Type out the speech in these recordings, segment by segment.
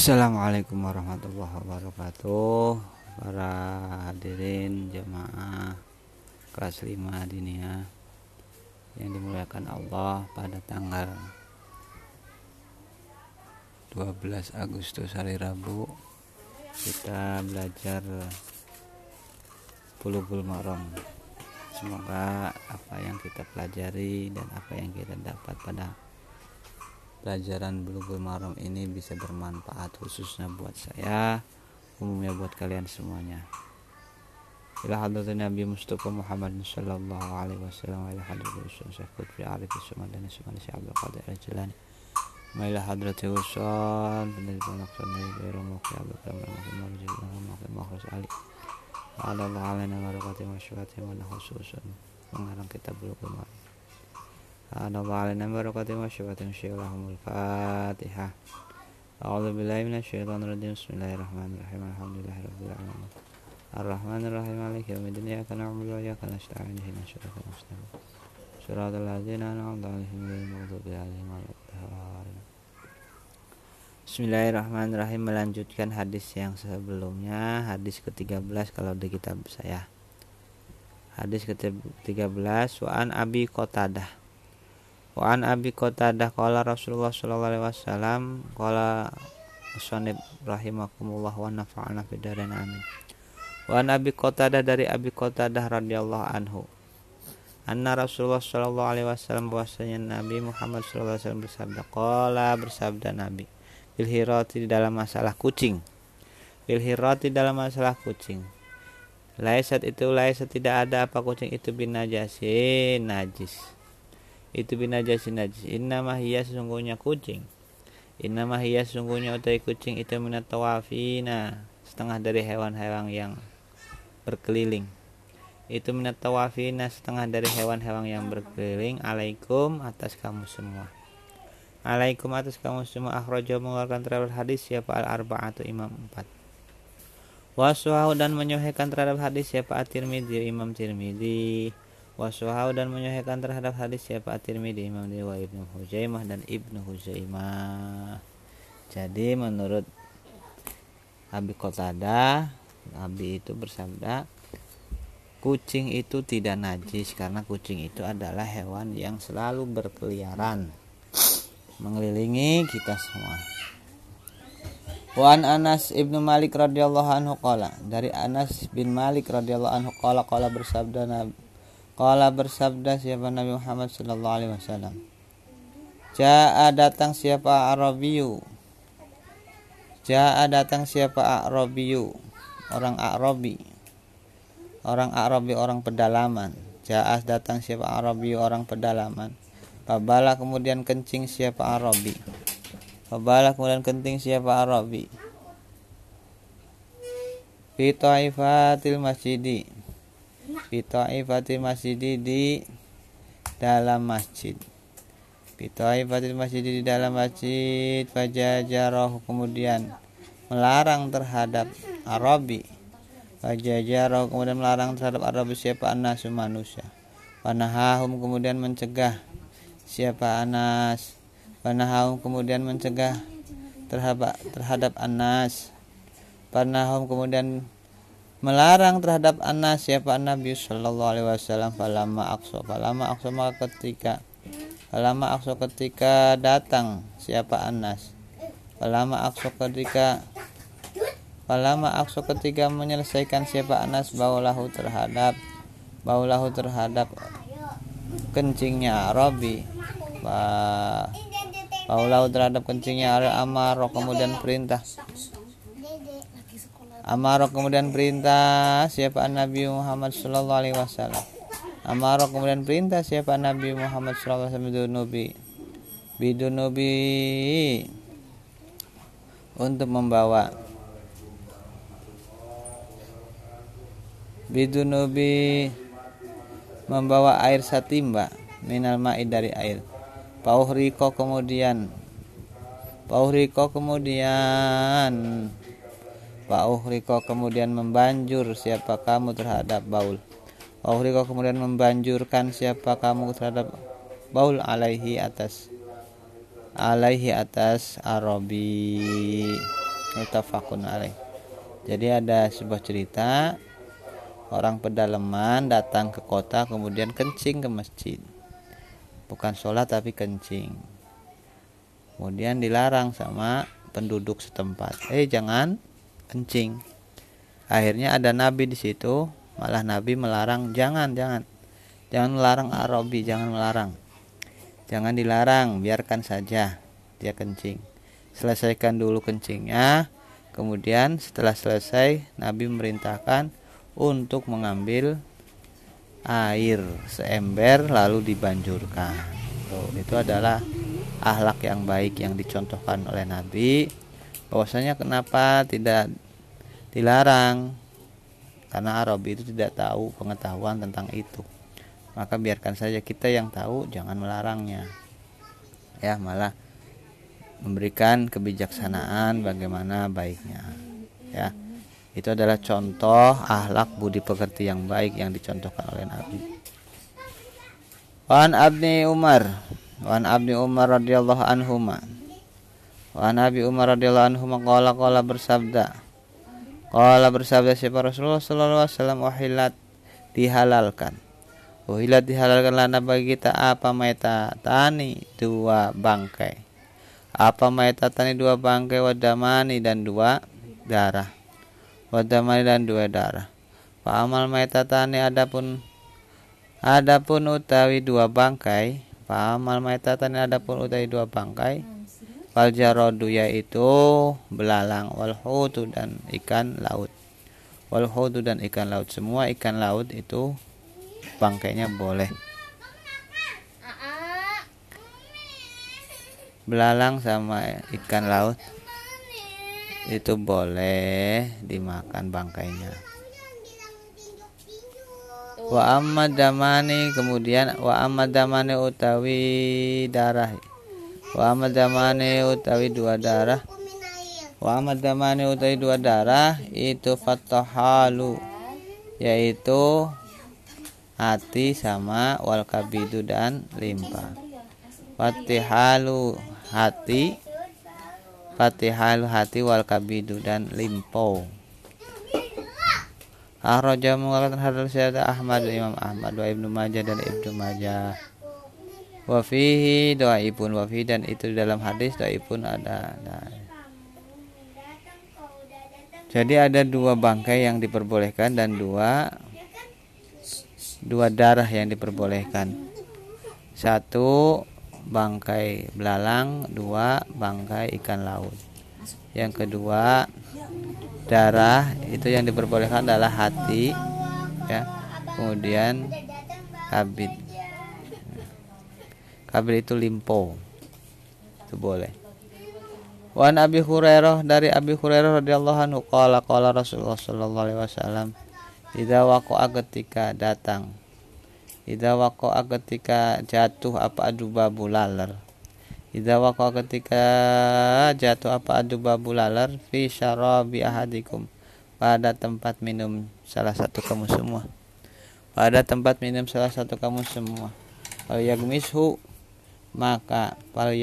Assalamualaikum warahmatullahi wabarakatuh. Para hadirin jemaah kelas 5 Diniyah yang dimuliakan Allah, pada tanggal 12 Agustus hari Rabu kita belajar Bulughul Maram. Semoga apa yang kita pelajari dan apa yang kita dapat pada pelajaran Bulughul Maram ini bisa bermanfaat, khususnya buat saya, umumnya buat kalian semuanya. Ila hadratin Nabi Mustafa Muhammad sallallahu alaihi wasallam, ila hadratin Syekh Qutbi Arif Sumadani Sumali Syekh Abdul Qadir Al-Jilani, ila hadratin Usul bin Al-Naqsan dari Romoki Abdul Karim Al-Makhraj Ali. Allah alaina barakati wa syafati wa khususan mengarang kitab Bulughul Maram. Allah alaina barakati wa syafati syaikhul Fatihah. A'udzu billahi minasyaitonir rajim. Bismillahirrahmanirrahim. Alhamdulillahirabbil alamin. Arrahmanirrahim. Maliki yaumiddin. Iyyaka na'budu wa iyyaka nasta'in. Ihdinas siratal mustaqim. Shiratal ladzina an'amta 'alaihim ghairil maghdubi 'alaihim waladdallin. Bismillahirrahmanirrahim. Melanjutkan hadis yang sebelumnya, hadis ke-13 kalau di kitab saya. Hadis ke-13, wa an Abi Qatadah. Wa an Abi Qatadah qala Rasulullah sallallahu alaihi wasallam qala musannif rahimakumullah wa nafa'ana fid dharain amin. Wa an Abi Qatadah, dari Abi Qatadah radhiyallahu anhu, anna Rasulullah sallallahu alaihi wasallam, bahwasanya Nabi Muhammad sallallahu alaihi wasallam bersabda, qala, bersabda Nabi, bil hirati, dalam masalah kucing. Bil hirati, dalam masalah kucing. Laisat, itu laisat, tidak ada apa kucing itu binajasin, najis. Itu binajasin, najis. Innamah hiya, sesungguhnya kucing. Innamah hiya, sesungguhnya utai kucing itu minat tawafina, setengah dari hewan-hewan yang berkeliling. Itu minat tawafina, setengah dari hewan-hewan yang berkeliling. Alaikum, atas kamu semua. Alaikum, atas kamu semua. Akhrajahu, mengeluarkan terhadap hadis siapa al-arba'atu, imam 4. Waswahu, dan menyahihkan terhadap hadis siapa at-Tirmidzi, imam Tirmidzi. Waswahu, dan menyahihkan terhadap hadis siapa at-Tirmidzi, imam Dewa Ibnu Huzaimah dan Ibnu Huzaimah. Jadi menurut Abi Qatadah, Nabi itu bersabda, kucing itu tidak najis karena kucing itu adalah hewan yang selalu berkeliaran mengelilingi kita semua. Wa an Anas ibnu Malik radhiyallahu anhu qala, dari Anas bin Malik radhiyallahu anhu qala bersabda Nabi, bersabda siapa Nabi Muhammad sallallahu alaihi wasallam, jaa, datang siapa Arabiyu, jaa, datang siapa Arabiyu, orang Arabi, orang pedalaman. Jaa, datang siapa Arabiyu, orang pedalaman. Fabala, kemudian kencing siapa Arabi. Fabala, kemudian kencing siapa Arabi. Fi ta'ifatil masjidi, fi ta'ifatil masjidi, di dalam masjid. Fi ta'ifatil masjidi, di dalam masjid. Fajajarahu, kemudian melarang terhadap Arabi. Fajajarahu, kemudian melarang terhadap Arabi siapa Anasu, manusia. Panahahum, kemudian mencegah siapa Anas. Panahum, kemudian mencegah terhadap Anas. Panahum, kemudian melarang terhadap Anas siapa Nabi sallallahu alaihi wasallam. Falama aqsa, maka ketika datang siapa Anas. Falama aqsa, ketika menyelesaikan siapa Anas baulahu terhadap kencingnya Arabi. Baulahu terhadap kencingnya Amaro, kemudian perintah. Amaro, kemudian perintah siapa Nabi Muhammad sallallahu alaihi wasallam. Amaro, kemudian perintah siapa Nabi Muhammad sallallahu alaihi wasallam bidunubi, untuk membawa air satimba, minal ma'i, dari air. Pauhriko, kemudian membanjur siapa kamu terhadap baul. Pauhriko, kemudian membanjurkan siapa kamu terhadap baul, alaihi atas Arabi. Muttafaqun alaih. Jadi ada sebuah cerita, orang pedalaman datang ke kota kemudian kencing ke masjid. Bukan sholat tapi kencing. Kemudian dilarang sama penduduk setempat. Jangan kencing. Akhirnya ada nabi di situ, malah nabi melarang, jangan melarang Arabi, jangan melarang. Jangan dilarang, biarkan saja dia kencing. Selesaikan dulu kencingnya. Kemudian setelah selesai, Nabi memerintahkan untuk mengambil air seember lalu dibanjurkan. Itu adalah akhlak yang baik yang dicontohkan oleh Nabi. Bahwasanya kenapa tidak dilarang? Karena Arabi itu tidak tahu pengetahuan tentang itu. Maka biarkan saja, kita yang tahu, jangan melarangnya. Ya, malah memberikan kebijaksanaan bagaimana baiknya. Ya. Itu adalah contoh akhlak budi pekerti yang baik yang dicontohkan oleh Nabi. Wan Abni Umar radhiyallahu anhuma. Wan Abi Umar radhiyallahu anhuma qala bersabda. Qala bersabda siapa Rasulullah sallallahu alaihi wasallam, uhilat dihalalkan. Uhilat dihalalkan lana bagi kita apa maitatani dua bangkai. Apa maitatani dua bangkai, wadamani dan dua darah. Wadamani dan dua darah. Fa amal maitatani adapun utawi dua bangkai. Fa amal maitatani adapun utawi dua bangkai. Fal jaradu yaitu belalang, wal hutu dan ikan laut. Wal hutu dan ikan laut, semua ikan laut itu bangkainya boleh. Belalang sama ikan laut itu boleh dimakan bangkainya. Wa amad damani, kemudian wa amad damani utawi darah. Wa amad damani utawi dua darah. Wa amad damani utawi dua darah itu fatahalu, yaitu hati sama wal kabidu dan limpa. Fatihalu hati, fatihalu hati wal kabidu dan limpo. Akhraja mengeluarkan hadis syahada Ahmad, Imam Ahmad, wa Ibnu Majah dan Ibnu Majah. Wa fihi dhaifun, wa fi dan itu di dalam hadis dhaifun ada. Jadi ada dua bangkai yang diperbolehkan dan dua darah yang diperbolehkan. Satu bangkai belalang, dua bangkai ikan laut. Yang kedua darah itu yang diperbolehkan adalah hati, ya. Kemudian kabid. Kabid itu limpo, itu boleh. Wan Abi Hurairah, dari Abi Hurairah radhiyallahu anhu qala Rasulullah sallallahu alaihi wasallam, idza waqa'a ketika datang, idza waqa'a ketika jatuh apa adubabu laler. Idza waqa'a ketika jatuh apa adubabu laler fi syarabi ahadikum, pada tempat minum salah satu kamu semua. Pada tempat minum salah satu kamu semua. Fal yagmishu maka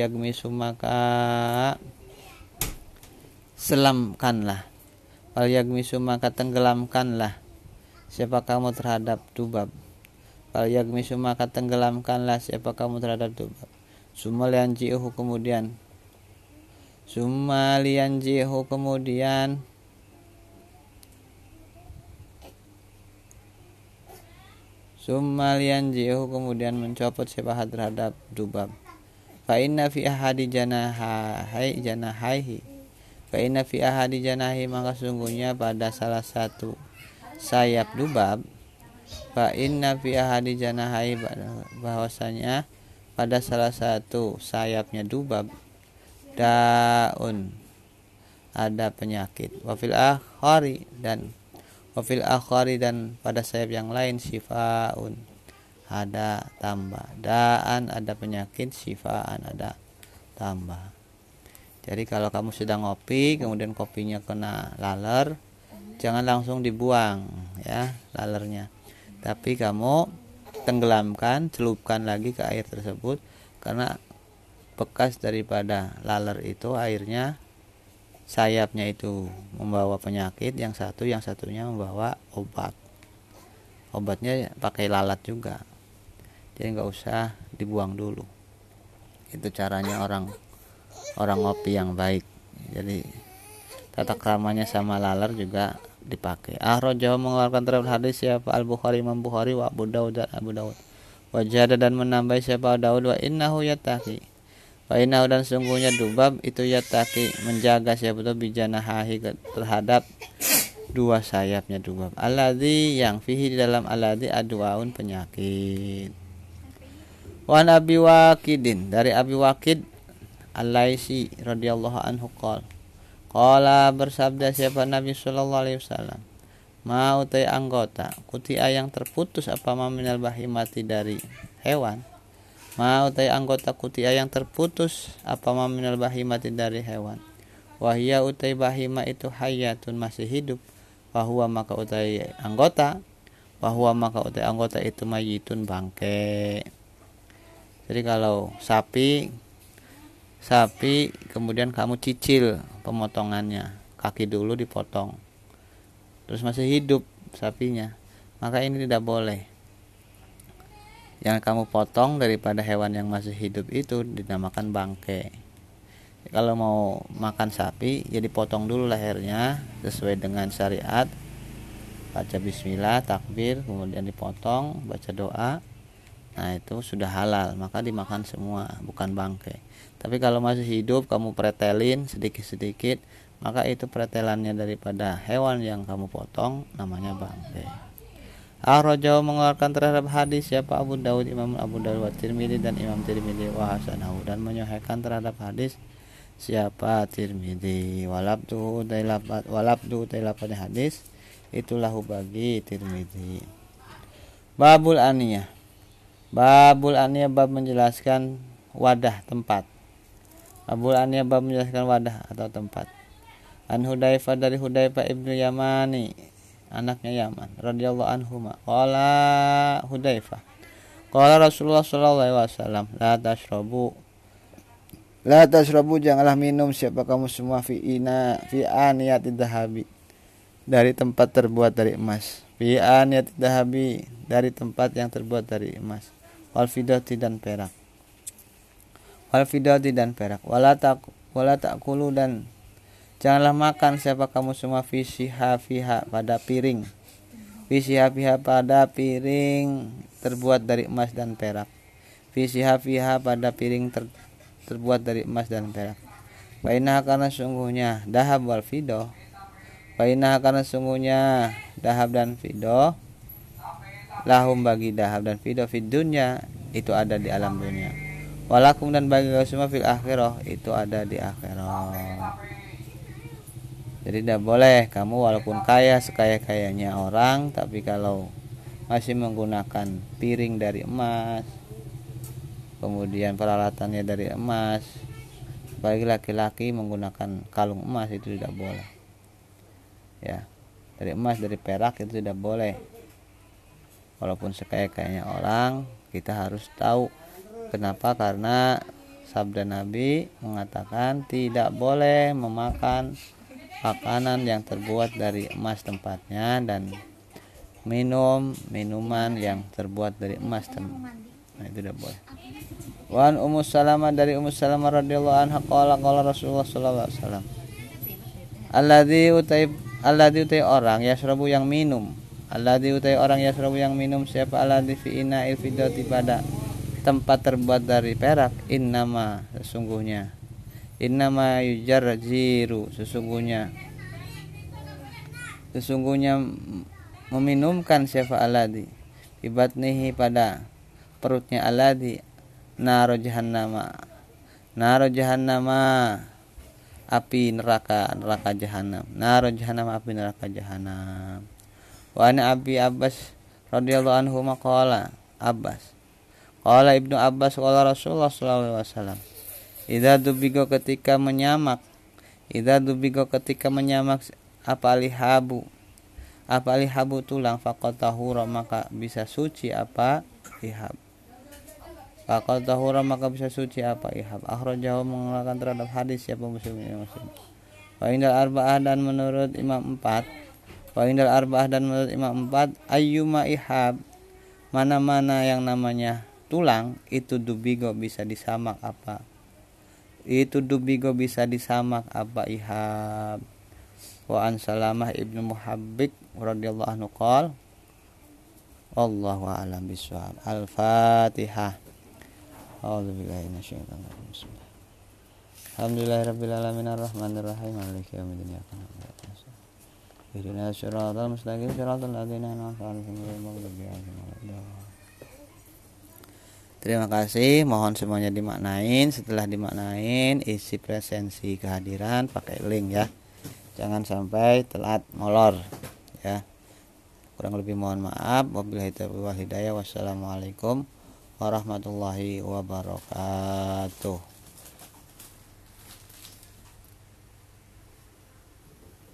selamkanlah. Fal yagmisu maka tenggelamkanlah siapa kamu terhadap dubab. Fal yagmisu maka tenggelamkanlah siapa kamu terhadap dubab. Sumalianjihu kemudian mencopot siapa terhadap dubab. Fa inna fi ahadi janahi maka sungguhnya pada salah satu sayap dubab. Fa inna fi ahadi janahi bahwasanya pada salah satu sayapnya dubab daun ada penyakit. Wafil akhari dan pada sayap yang lain sifaun ada tambah. Daan ada penyakit, sifaan ada tambah. Jadi kalau kamu sedang ngopi kemudian kopinya kena laler, jangan langsung dibuang ya lalernya, tapi kamu tenggelamkan, celupkan lagi ke air tersebut, karena bekas daripada laler itu airnya sayapnya itu membawa penyakit, yang satunya membawa obat. Obatnya pakai lalat juga, jadi nggak usah dibuang dulu. Itu caranya orang ngopi yang baik. Jadi tata kramanya sama laler juga dipakai. Akhrajahu mengeluarkan terhadap hadis siapa Al-Bukhari, Imam Bukhari, wa Abu Daud dan Abu Daud. Wajada dan menambah siapa Daud, wa innahu yattaqi. Wa innahu dan sungguhnya Dubab itu yattaqi, menjaga siapa itu bijanahahi terhadap dua sayapnya Dubab. Alladzi yang fihi di dalam alladzi adwaun penyakit. Wa Abi Waqidin dari Abi Waqid Al-Laisi radhiyallahu anhu qala bersabda siapa Nabi sallallahu alaihi wasallam, mau utai anggota kutia yang terputus apa minal bahimati dari hewan, mau utai anggota kutia yang terputus apa minal bahimati dari hewan, wahia utai bahima itu hayatun masih hidup, wahwa maka utai anggota itu mayitun bangke. Jadi kalau sapi kemudian kamu cicil pemotongannya, kaki dulu dipotong terus masih hidup sapinya, maka ini tidak boleh. Yang kamu potong daripada hewan yang masih hidup itu dinamakan bangke. Kalau mau makan sapi ya dipotong dulu lehernya sesuai dengan syariat, baca bismillah, takbir, kemudian dipotong, baca doa. Nah itu sudah halal, maka dimakan semua, bukan bangke. Tapi kalau masih hidup kamu pretelin sedikit-sedikit, maka itu pretelannya daripada hewan yang kamu potong, namanya bangke. Akhrajahu mengeluarkan terhadap hadis siapa Abu Daud, Imam Abu Daud, wa Tirmidzi dan Imam Tirmidzi, wa hasanahu dan menyahihkan terhadap hadis siapa Tirmidzi. Walabdu tailapat hadis itulah bagi Tirmidzi. Babul aniyah. Babul aniyah bab menjelaskan wadah tempat. Babul aniyah bab menjelaskan wadah atau tempat. An Hudzaifah dari Hudzaifah ibnu Yamani, anaknya Yaman, radhiyallahu anhuma. Qala Hudzaifah, qala Rasulullah sallallahu alaihi wasallam, la tashrabu janganlah minum siapa kamu semua fi aniyatid dhahabi, dari tempat terbuat dari emas. Fi aniyatid dhahabi, dari tempat yang terbuat dari emas. Wal fiddati dan perak. Wala ta'kulu dan janganlah makan siapa kamu semua fiha pada piring. Fiha pada piring terbuat dari emas dan perak. Fiha pada piring terbuat dari emas dan perak. Bainah karena sungguhnya dahab wal fiddah. Bainah karena sungguhnya dahab dan fiddah. Lahum bagi dahab dan fiddah fid dunya itu ada di alam dunia. Walakum dan bagi kamu semua fil akhirah itu ada di akhirat. Jadi tidak boleh kamu walaupun kaya sekaya-kayanya orang, tapi kalau masih menggunakan piring dari emas, kemudian peralatannya dari emas, bagi laki-laki menggunakan kalung emas itu tidak boleh. Ya, dari emas, dari perak itu tidak boleh. Walaupun sekaya-kayanya orang, kita harus tahu kenapa, karena sabda Nabi mengatakan tidak boleh memakan makanan yang terbuat dari emas tempatnya dan minuman yang terbuat dari emas tempatnya. Nah, itu tidak boleh. Wan Ummu Salamah dari Ummu Salamah radhiyallahu anha qala Rasulullah sallallahu alaihi wasallam, alladzi utai orang yasrabu yang minum, alladzi utai orang yasrabu yang minum siapa alladzi fi ina'il fiddati pada tempat terbuat dari perak, innama yujarjiru sesungguhnya meminumkan siapa alladzi bibatnihi pada perutnya alladzi naro jahannama api neraka jahanam, naro jahannam api neraka jahanam. Wa ana Abi Abbas radhiyallahu anhu maqala qala Ibnu Abbas qala Rasulullah sallallahu alaihi wasallam, idza dubigo ketika menyamak apa lihabu tulang faqad tahura maka bisa suci apa ihab. Akhrajahu mengeluarkan terhadap hadis siapa Muslim. Wa indal arba'ah dan menurut Imam 4. Wa indal arba'ah dan menurut Imam 4 ayyuma ihab, mana-mana yang namanya tulang itu dubigo bisa disamak apa? Itu dubigo bisa disamak apa ihab. Wa an Salamah ibnu Muhabbik radhiyallahu anhu qol Allahu a'lam bishawab. Al-Fatihah. A'udzubillahi minasyaitonir rajim. Alhamdulillahirabbil alamin arrahmanir rahim maliki yaumiddin iyyaka na'budu wa iyyaka nasta'in ihdinas siratal mustaqim siratal ladzina an'amta 'alaihim ghairil maghdubi 'alaihim waladdallin. Terima kasih, mohon semuanya dimaknain. Setelah dimaknain, isi presensi kehadiran pakai link ya. Jangan sampai telat molor ya. Kurang lebih mohon maaf. Wabillahi taufiq wal hidayah. Wassalamualaikum warahmatullahi wabarakatuh.